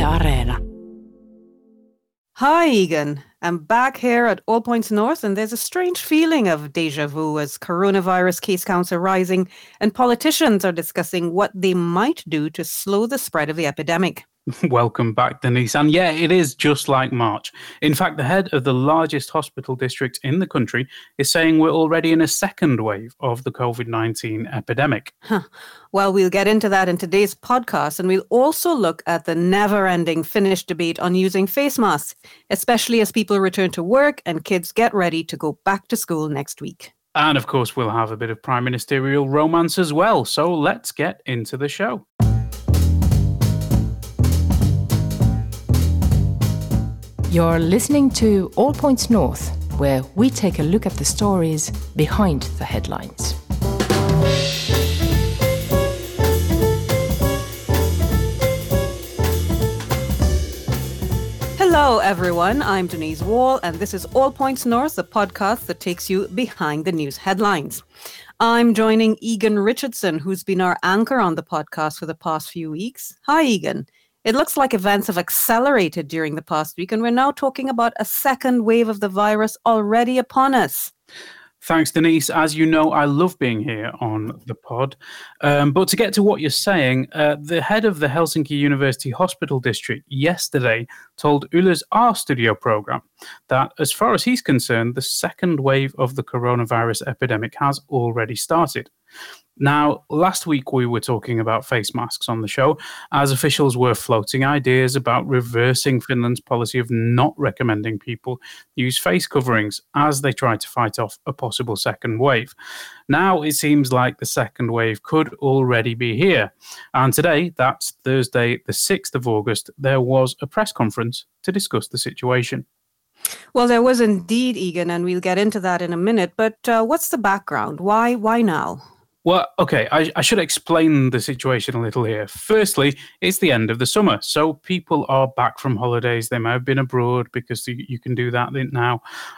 Areena. Hi, Egan. I'm back here at All Points North, and there's a strange feeling of deja vu as coronavirus case counts are rising and politicians are discussing what they might do to slow the spread of the epidemic. Welcome back, Denise. And yeah, it is just like March. In fact, the head of the largest hospital district in the country is saying we're already in a second wave of the COVID-19 epidemic. Well, we'll get into that in today's podcast, and we'll also look at the never-ending Finnish debate on using face masks, especially as people return to work and kids get ready to go back to school next week. And of course, we'll have a bit of prime ministerial romance as well. So let's get into the show. You're listening to All Points North, where we take a look at the stories behind the headlines. Hello, everyone. I'm Denise Wall, and this is All Points North, the podcast that takes you behind the news headlines. I'm joining Egan Richardson, who's been our anchor on the podcast for the past few weeks. Hi, Egan. It looks like events have accelerated during the past week, and we're now talking about a second wave of the virus already upon us. Thanks, Denise. As you know, I love being here on the pod. But to get to what you're saying, the head of the Helsinki University Hospital District yesterday told Yle's Our Studio program that, as far as he's concerned, the second wave of the coronavirus epidemic has already started. Now, last week we were talking about face masks on the show, as officials were floating ideas about reversing Finland's policy of not recommending people use face coverings as they try to fight off a possible second wave. Now it seems like the second wave could already be here. And today, that's Thursday, the 6th of August, there was a press conference to discuss the situation. Well, there was indeed, Egan, and we'll get into that in a minute. But what's the background? Why now? Well, okay, I should explain the situation a little here. Firstly, it's the end of the summer, so people are back from holidays. They may have been abroad because you can do that now.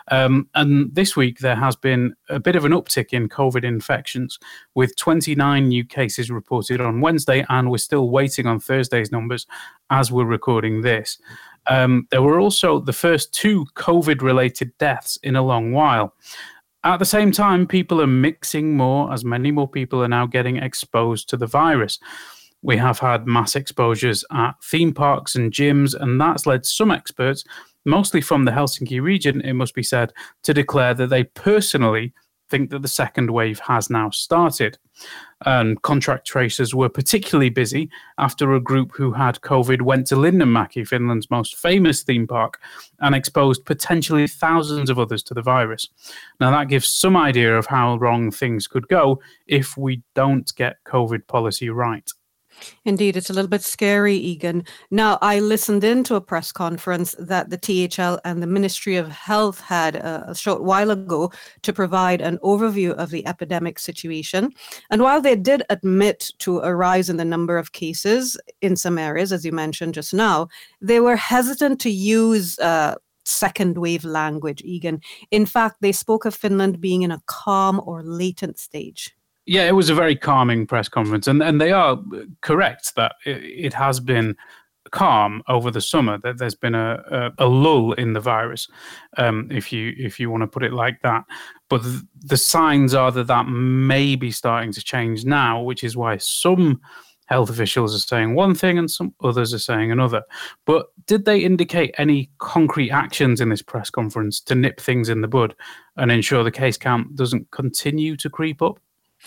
And this week, there has been a bit of an uptick in COVID infections, with 29 new cases reported on Wednesday, and we're still waiting on Thursday's numbers as we're recording this. There were also the first 2 COVID-related deaths in a long while. At the same time, people are mixing more, as many more people are now getting exposed to the virus. We have had mass exposures at theme parks and gyms, and that's led some experts, mostly from the Helsinki region, it must be said, to declare that they personally think that the second wave has now started. And contract tracers were particularly busy after a group who had COVID went to Linnanmäki, Finland's most famous theme park, and exposed potentially thousands of others to the virus. Now that gives some idea of how wrong things could go if we don't get COVID policy right. Indeed, it's a little bit scary, Egan. Now, I listened into a press conference that the THL and the Ministry of Health had a short while ago to provide an overview of the epidemic situation. And while they did admit to a rise in the number of cases in some areas, as you mentioned just now, they were hesitant to use second wave language, Egan. In fact, they spoke of Finland being in a calm or latent stage. Yeah, it was a very calming press conference, and they are correct that it has been calm over the summer. That there's been a lull in the virus, if you want to put it like that. But the signs are that may be starting to change now, which is why some health officials are saying one thing and some others are saying another. But did they indicate any concrete actions in this press conference to nip things in the bud and ensure the case count doesn't continue to creep up?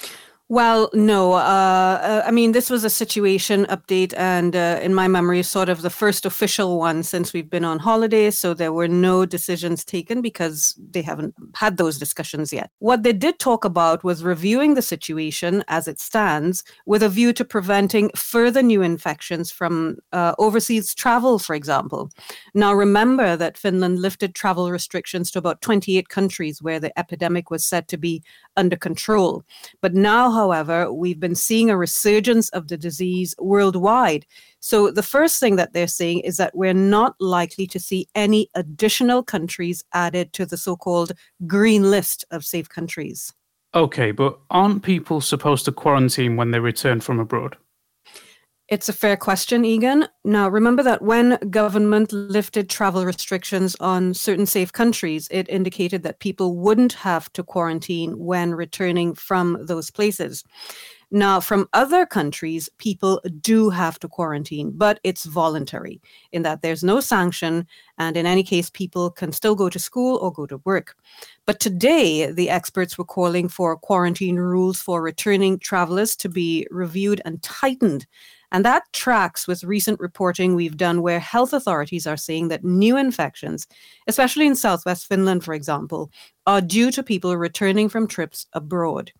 Well, no. I mean, this was a situation update, and in my memory, sort of the first official one since we've been on holiday. So there were no decisions taken because they haven't had those discussions yet. What they did talk about was reviewing the situation as it stands with a view to preventing further new infections from overseas travel, for example. Now, remember that Finland lifted travel restrictions to about 28 countries where the epidemic was said to be under control. But now, however, we've been seeing a resurgence of the disease worldwide. So the first thing that they're saying is that we're not likely to see any additional countries added to the so-called green list of safe countries. Okay, but aren't people supposed to quarantine when they return from abroad? It's a fair question, Egan. Now, remember that when government lifted travel restrictions on certain safe countries, it indicated that people wouldn't have to quarantine when returning from those places. Now, from other countries, people do have to quarantine, but it's voluntary in that there's no sanction. And in any case, people can still go to school or go to work. But today, the experts were calling for quarantine rules for returning travelers to be reviewed and tightened. And that tracks with recent reporting we've done where health authorities are saying that new infections, especially in southwest Finland, for example, are due to people returning from trips abroad.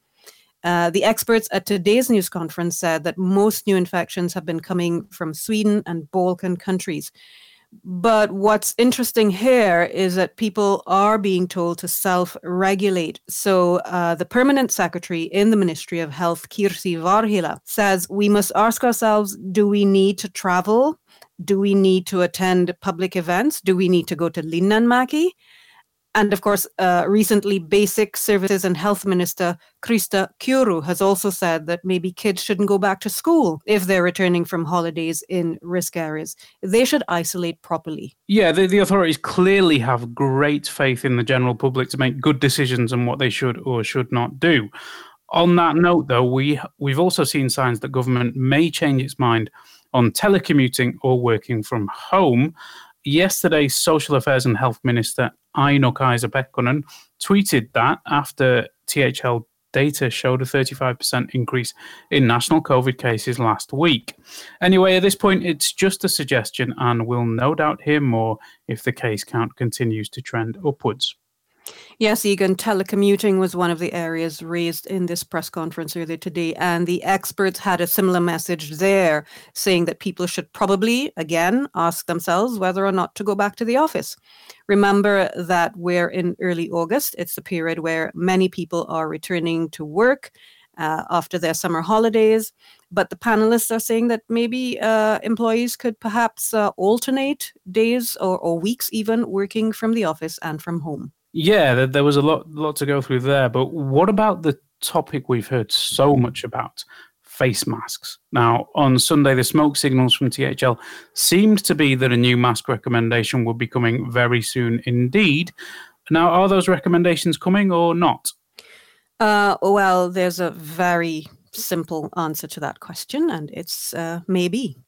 The experts at today's news conference said that most new infections have been coming from Sweden and Balkan countries. But what's interesting here is that people are being told to self-regulate. So the permanent secretary in the Ministry of Health, Kirsi Varhila, says we must ask ourselves, do we need to travel? Do we need to attend public events? Do we need to go to Linnanmäki? And of course, recently, Basic Services and Health Minister Krista Kiuru has also said that maybe kids shouldn't go back to school if they're returning from holidays in risk areas. They should isolate properly. Yeah, the authorities clearly have great faith in the general public to make good decisions on what they should or should not do. On that note, though, we've also seen signs that government may change its mind on telecommuting or working from home. Yesterday, Social Affairs and Health Minister Aino-Kaisa Pekkonen tweeted that after THL data showed a 35% increase in national COVID cases last week. Anyway, at this point, it's just a suggestion, and we'll no doubt hear more if the case count continues to trend upwards. Yes, Egan, telecommuting was one of the areas raised in this press conference earlier today, and the experts had a similar message there, saying that people should probably, again, ask themselves whether or not to go back to the office. Remember that we're in early August. It's the period where many people are returning to work after their summer holidays. But the panelists are saying that maybe employees could perhaps alternate days or weeks even working from the office and from home. Yeah, there was a lot to go through there. But what about the topic we've heard so much about, face masks? Now, on Sunday, the smoke signals from THL seemed to be that a new mask recommendation would be coming very soon indeed. Now, are those recommendations coming or not? Well, there's a very simple answer to that question, and it's maybe.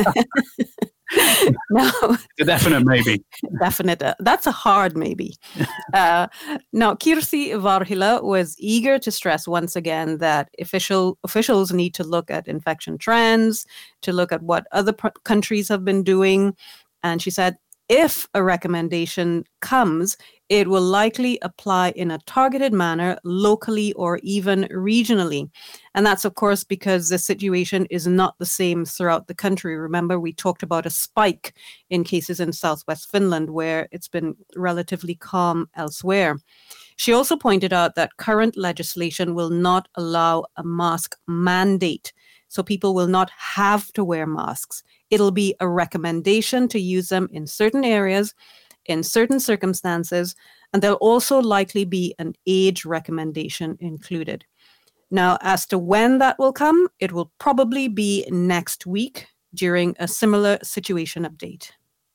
No, a definite maybe. Definite. That's a hard maybe. Now, Kirsi Varhila was eager to stress once again that officials need to look at infection trends, to look at what other countries have been doing. And she said, if a recommendation comes, it will likely apply in a targeted manner locally or even regionally. And that's, of course, because the situation is not the same throughout the country. Remember, we talked about a spike in cases in southwest Finland, where it's been relatively calm elsewhere. She also pointed out that current legislation will not allow a mask mandate. So people will not have to wear masks. It'll be a recommendation to use them in certain areas, in certain circumstances, and there'll also likely be an age recommendation included. Now, as to when that will come, it will probably be next week during a similar situation update.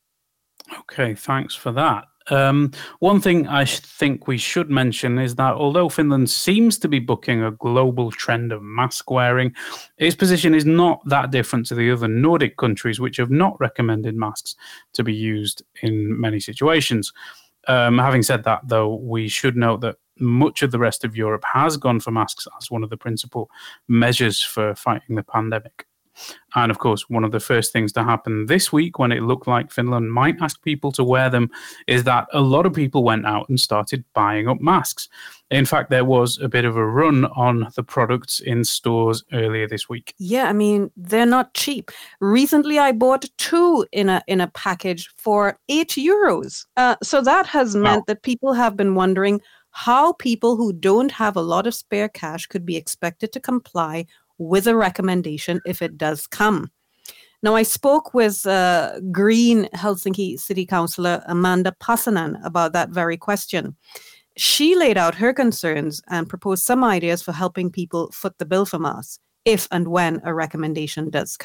Okay, thanks for that. One thing I think we should mention is that although Finland seems to be bucking a global trend of mask wearing, its position is not that different to the other Nordic countries, which have not recommended masks to be used in many situations. Having said that, though, we should note that much of the rest of Europe has gone for masks as one of the principal measures for fighting the pandemic. And of course, one of the first things to happen this week when it looked like Finland might ask people to wear them is that a lot of people went out and started buying up masks. In fact, there was a bit of a run on the products in stores earlier this week. Yeah, I mean, they're not cheap. Recently, I bought 2 in a package for €8. So that has meant that people have been wondering how people who don't have a lot of spare cash could be expected to comply with a recommendation if it does come. Now, I spoke with Green Helsinki City Councillor Amanda Passanen about that very question. She laid out her concerns and proposed some ideas for helping people foot the bill for masks if and when a recommendation does come.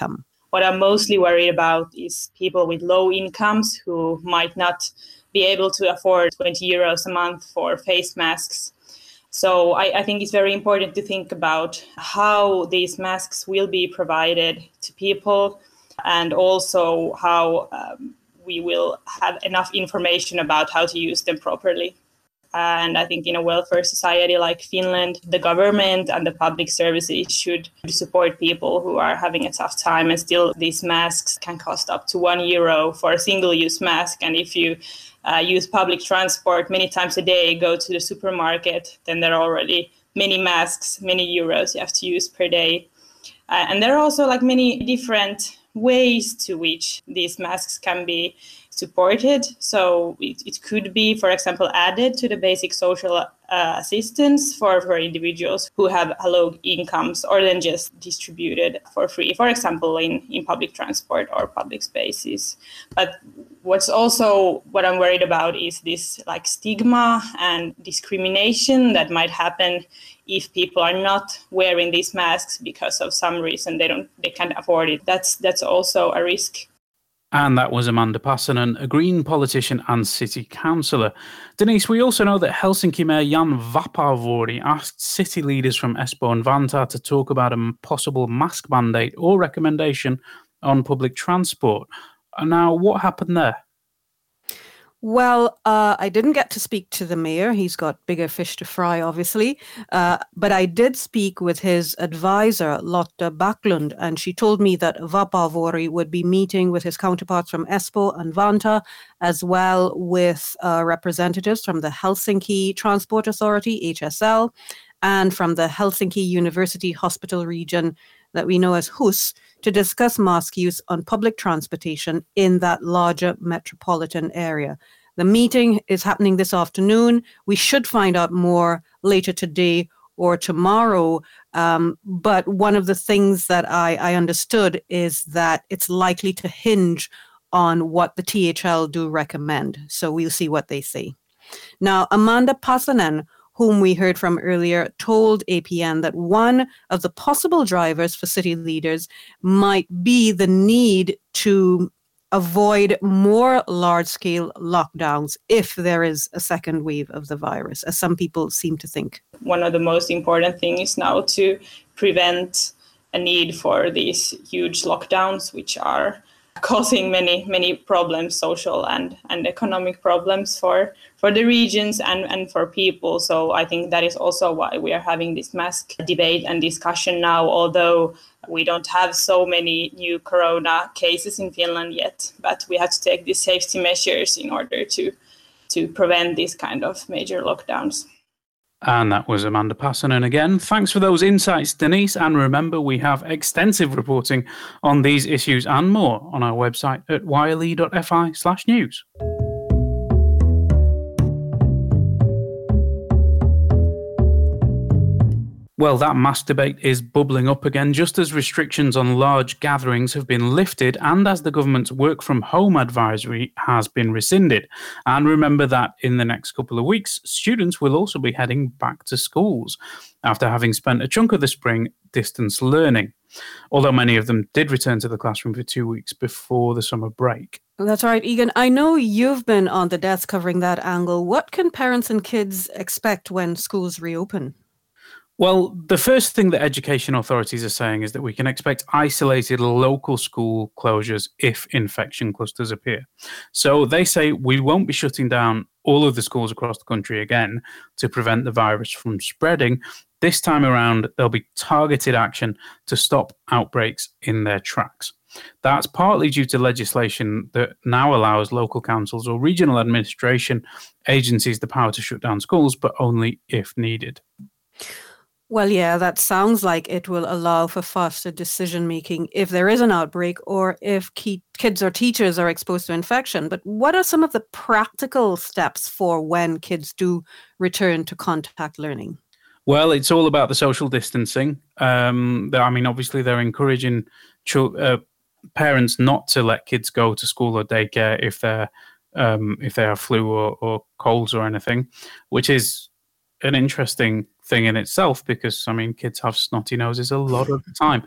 What I'm mostly worried about is people with low incomes who might not be able to afford 20 euros a month for face masks. So I think it's very important to think about how these masks will be provided to people, and also how we will have enough information about how to use them properly. And I think in a welfare society like Finland, the government and the public services should support people who are having a tough time. And still, these masks can cost up to €1 for a single-use mask. And if you use public transport many times a day, go to the supermarket, then there are already many masks, many euros you have to use per day. And there are also many different ways to which these masks can be supported. So it could be, for example, added to the basic social assistance for individuals who have low incomes, or then just distributed for free, for example, in public transport or public spaces. But what I'm worried about is this stigma and discrimination that might happen if people are not wearing these masks because of some reason they can't afford it. That's also a risk. And that was Amanda Passanen, a Green politician and city councillor. Denise, we also know that Helsinki Mayor Jan Vapaavuori asked city leaders from Espoo and Vantaa to talk about a possible mask mandate or recommendation on public transport. Now, what happened there? Well, I didn't get to speak to the mayor. He's got bigger fish to fry, obviously. But I did speak with his advisor, Lotta Backlund, and she told me that Vapaavuori would be meeting with his counterparts from Espoo and Vantaa, as well with representatives from the Helsinki Transport Authority, HSL, and from the Helsinki University Hospital region that we know as HUS, to discuss mask use on public transportation in that larger metropolitan area. The meeting is happening this afternoon. We should find out more later today or tomorrow. But one of the things that I understood is that it's likely to hinge on what the THL do recommend. So we'll see what they say. Now, Amanda Passanen, whom we heard from earlier, told APN that one of the possible drivers for city leaders might be the need to avoid more large-scale lockdowns if there is a second wave of the virus, as some people seem to think. One of the most important things now to prevent a need for these huge lockdowns, which are causing many problems, social and economic problems for the regions and for people. So I think that is also why we are having this mask debate and discussion now, although we don't have so many new corona cases in Finland yet, but we have to take these safety measures in order to prevent these kind of major lockdowns. And that was Amanda Passanen again. Thanks for those insights, Denise. And remember, we have extensive reporting on these issues and more on our website at yle.fi/news. Well, that mask debate is bubbling up again, just as restrictions on large gatherings have been lifted and as the government's work from home advisory has been rescinded. And remember that in the next couple of weeks, students will also be heading back to schools after having spent a chunk of the spring distance learning, although many of them did return to the classroom for 2 weeks before the summer break. That's right, Egan. I know you've been on the desk covering that angle. What can parents and kids expect when schools reopen? Well, the first thing that education authorities are saying is that we can expect isolated local school closures if infection clusters appear. So they say we won't be shutting down all of the schools across the country again to prevent the virus from spreading. This time around, there'll be targeted action to stop outbreaks in their tracks. That's partly due to legislation that now allows local councils or regional administration agencies the power to shut down schools, but only if needed. Well, yeah, that sounds like it will allow for faster decision-making if there is an outbreak or if kids or teachers are exposed to infection. But what are some of the practical steps for when kids do return to contact learning? Well, it's all about the social distancing. Obviously, they're encouraging parents not to let kids go to school or daycare if they have flu or colds or anything, which is an interesting thing in itself because, I mean, kids have snotty noses a lot of the time.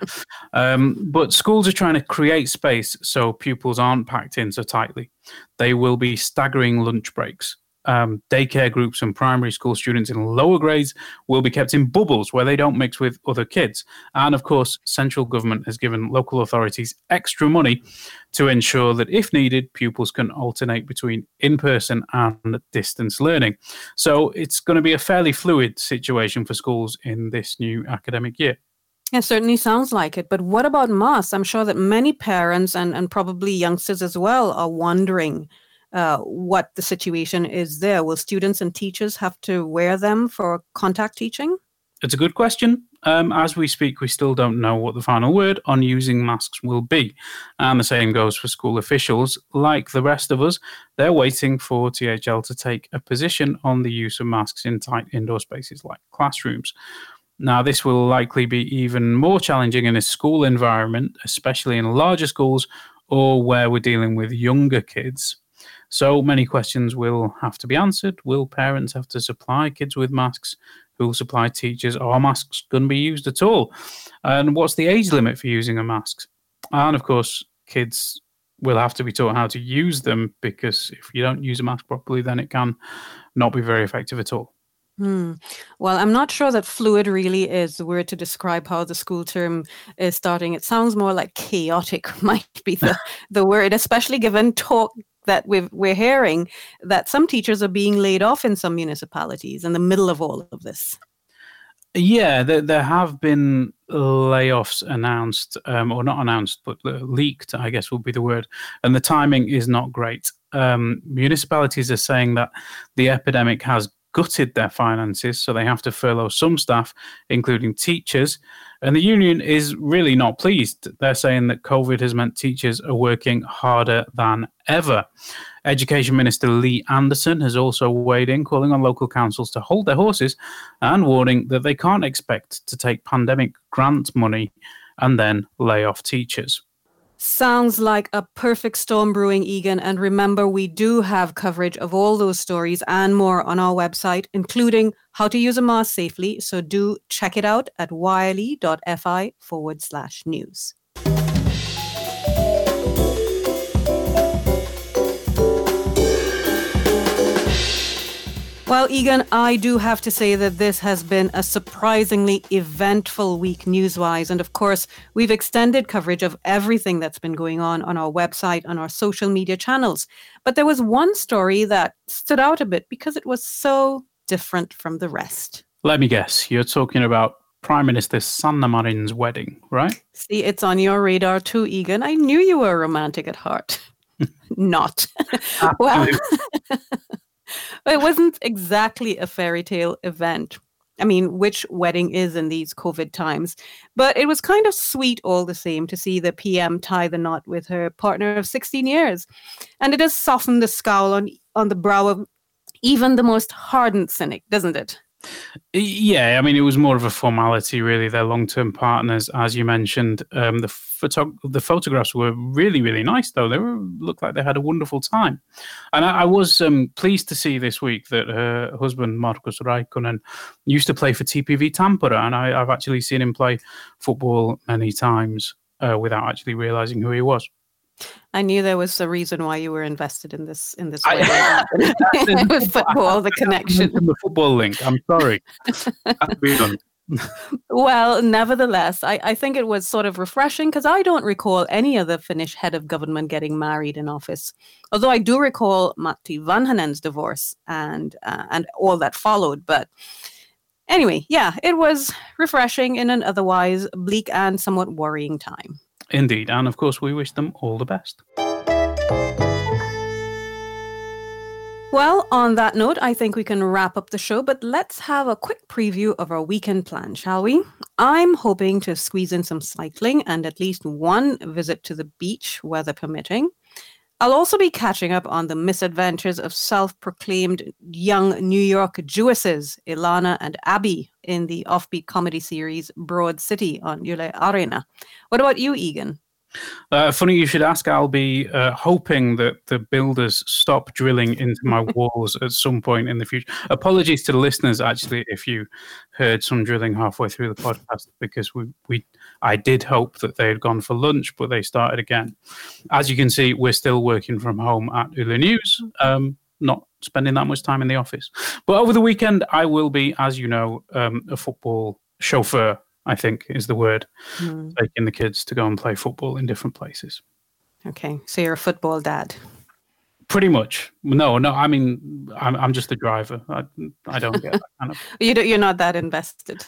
But schools are trying to create space so pupils aren't packed in so tightly. They will be staggering lunch breaks. Daycare groups and primary school students in lower grades will be kept in bubbles where they don't mix with other kids. And of course, central government has given local authorities extra money to ensure that if needed, pupils can alternate between in-person and distance learning. So it's going to be a fairly fluid situation for schools in this new academic year. It certainly sounds like it. But what about masks? I'm sure that many parents and probably youngsters as well are wondering what the situation is there. Will students and teachers have to wear them for contact teaching? It's a good question. As we speak, we still don't know what the final word on using masks will be. And the same goes for school officials. Like the rest of us, they're waiting for THL to take a position on the use of masks in tight indoor spaces like classrooms. Now, this will likely be even more challenging in a school environment, especially in larger schools or where we're dealing with younger kids. So many questions will have to be answered. Will parents have to supply kids with masks? Who will supply teachers? Are masks going to be used at all? And what's the age limit for using a mask? And of course, kids will have to be taught how to use them because if you don't use a mask properly, then it can not be very effective at all. Well, I'm not sure that fluid really is the word to describe how the school term is starting. It sounds more like chaotic might be the word, especially given talk that we're hearing that some teachers are being laid off in some municipalities in the middle of all of this. Yeah, there have been layoffs announced, or not announced, but leaked, I guess would be the word. And the timing is not great. Municipalities are saying that the epidemic has gutted their finances, so they have to furlough some staff, including teachers. And the union is really not pleased. They're saying that COVID has meant teachers are working harder than ever. Education Minister Lee Anderson has also weighed in, calling on local councils to hold their horses and warning that they can't expect to take pandemic grant money and then lay off teachers. Sounds like a perfect storm brewing, Egan. And remember, we do have coverage of all those stories and more on our website, including how to use a mask safely. So do check it out at yle.fi/news. Well, Egan, I do have to say that this has been a surprisingly eventful week news-wise. And of course, we've extended coverage of everything that's been going on our website, on our social media channels. But there was one story that stood out a bit because it was so different from the rest. Let me guess, you're talking about Prime Minister Sanna Marin's wedding, right? See, it's on your radar too, Egan. I knew you were romantic at heart. Not. Well... It wasn't exactly a fairy tale event. I mean, which wedding is in these COVID times? But it was kind of sweet all the same to see the PM tie the knot with her partner of 16 years. And it has softened the scowl on the brow of even the most hardened cynic, doesn't it? Yeah, I mean, it was more of a formality, really. They're long-term partners, as you mentioned. The photographs were really, really nice, though. They looked like they had a wonderful time. And I was pleased to see this week that her husband, Markus Räikkönen, used to play for TPV Tampere, and I've actually seen him play football many times without actually realizing who he was. I knew there was a reason why you were invested in this with football, the connection. The football link. I'm sorry. Well, nevertheless, I think it was sort of refreshing because I don't recall any other Finnish head of government getting married in office. Although I do recall Matti Vanhanen's divorce and all that followed. But anyway, yeah, it was refreshing in an otherwise bleak and somewhat worrying time. Indeed. And of course, we wish them all the best. Well, on that note, I think we can wrap up the show, but let's have a quick preview of our weekend plan, shall we? I'm hoping to squeeze in some cycling and at least one visit to the beach, weather permitting. I'll also be catching up on the misadventures of self-proclaimed young New York Jewesses, Ilana and Abby, in the offbeat comedy series Broad City on Yle Areena. What about you, Egan? Funny you should ask. I'll be hoping that the builders stop drilling into my walls at some point in the future. Apologies to the listeners, actually, if you heard some drilling halfway through the podcast, because I did hope that they had gone for lunch, but they started again. As you can see, we're still working from home at Yle News, not spending that much time in the office. But over the weekend, I will be, as you know, a football chauffeur, I think is the word, taking the kids to go and play football in different places. Okay, so you're a football dad. Pretty much. No. I mean, I'm just the driver. I don't get that kind of. You're not that invested.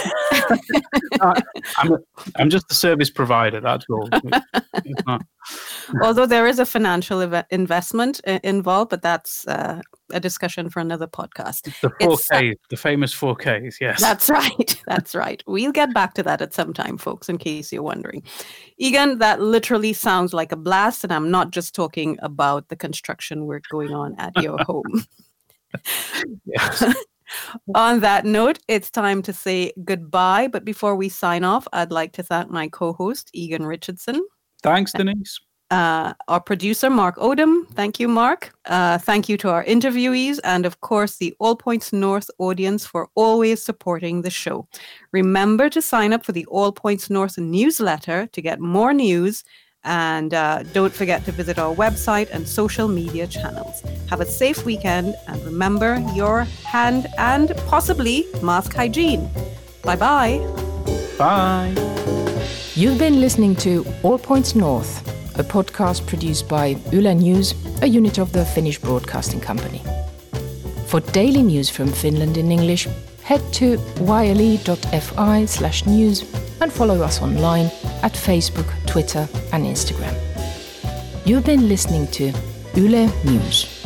I'm just the service provider. That's all. It's not. Although there is a financial investment involved, but that's a discussion for another podcast. The 4K, the famous 4Ks, yes. That's right. That's right. We'll get back to that at some time, folks, in case you're wondering. Egan, that literally sounds like a blast, and I'm not just talking about the construction work going on at your home. Yes. On that note, it's time to say goodbye. But before we sign off, I'd like to thank my co-host, Egan Richardson. Thanks, Denise. Our producer, Mark Odom. Thank you, Mark. Thank you to our interviewees and, of course, the All Points North audience for always supporting the show. Remember to sign up for the All Points North newsletter to get more news. And don't forget to visit our website and social media channels. Have a safe weekend and remember your hand and possibly mask hygiene. Bye-bye. Bye. You've been listening to All Points North, a podcast produced by Yle News, a unit of the Finnish Broadcasting Company. For daily news from Finland in English, head to yle.fi/news and follow us online at Facebook, Twitter and Instagram. You've been listening to Yle News.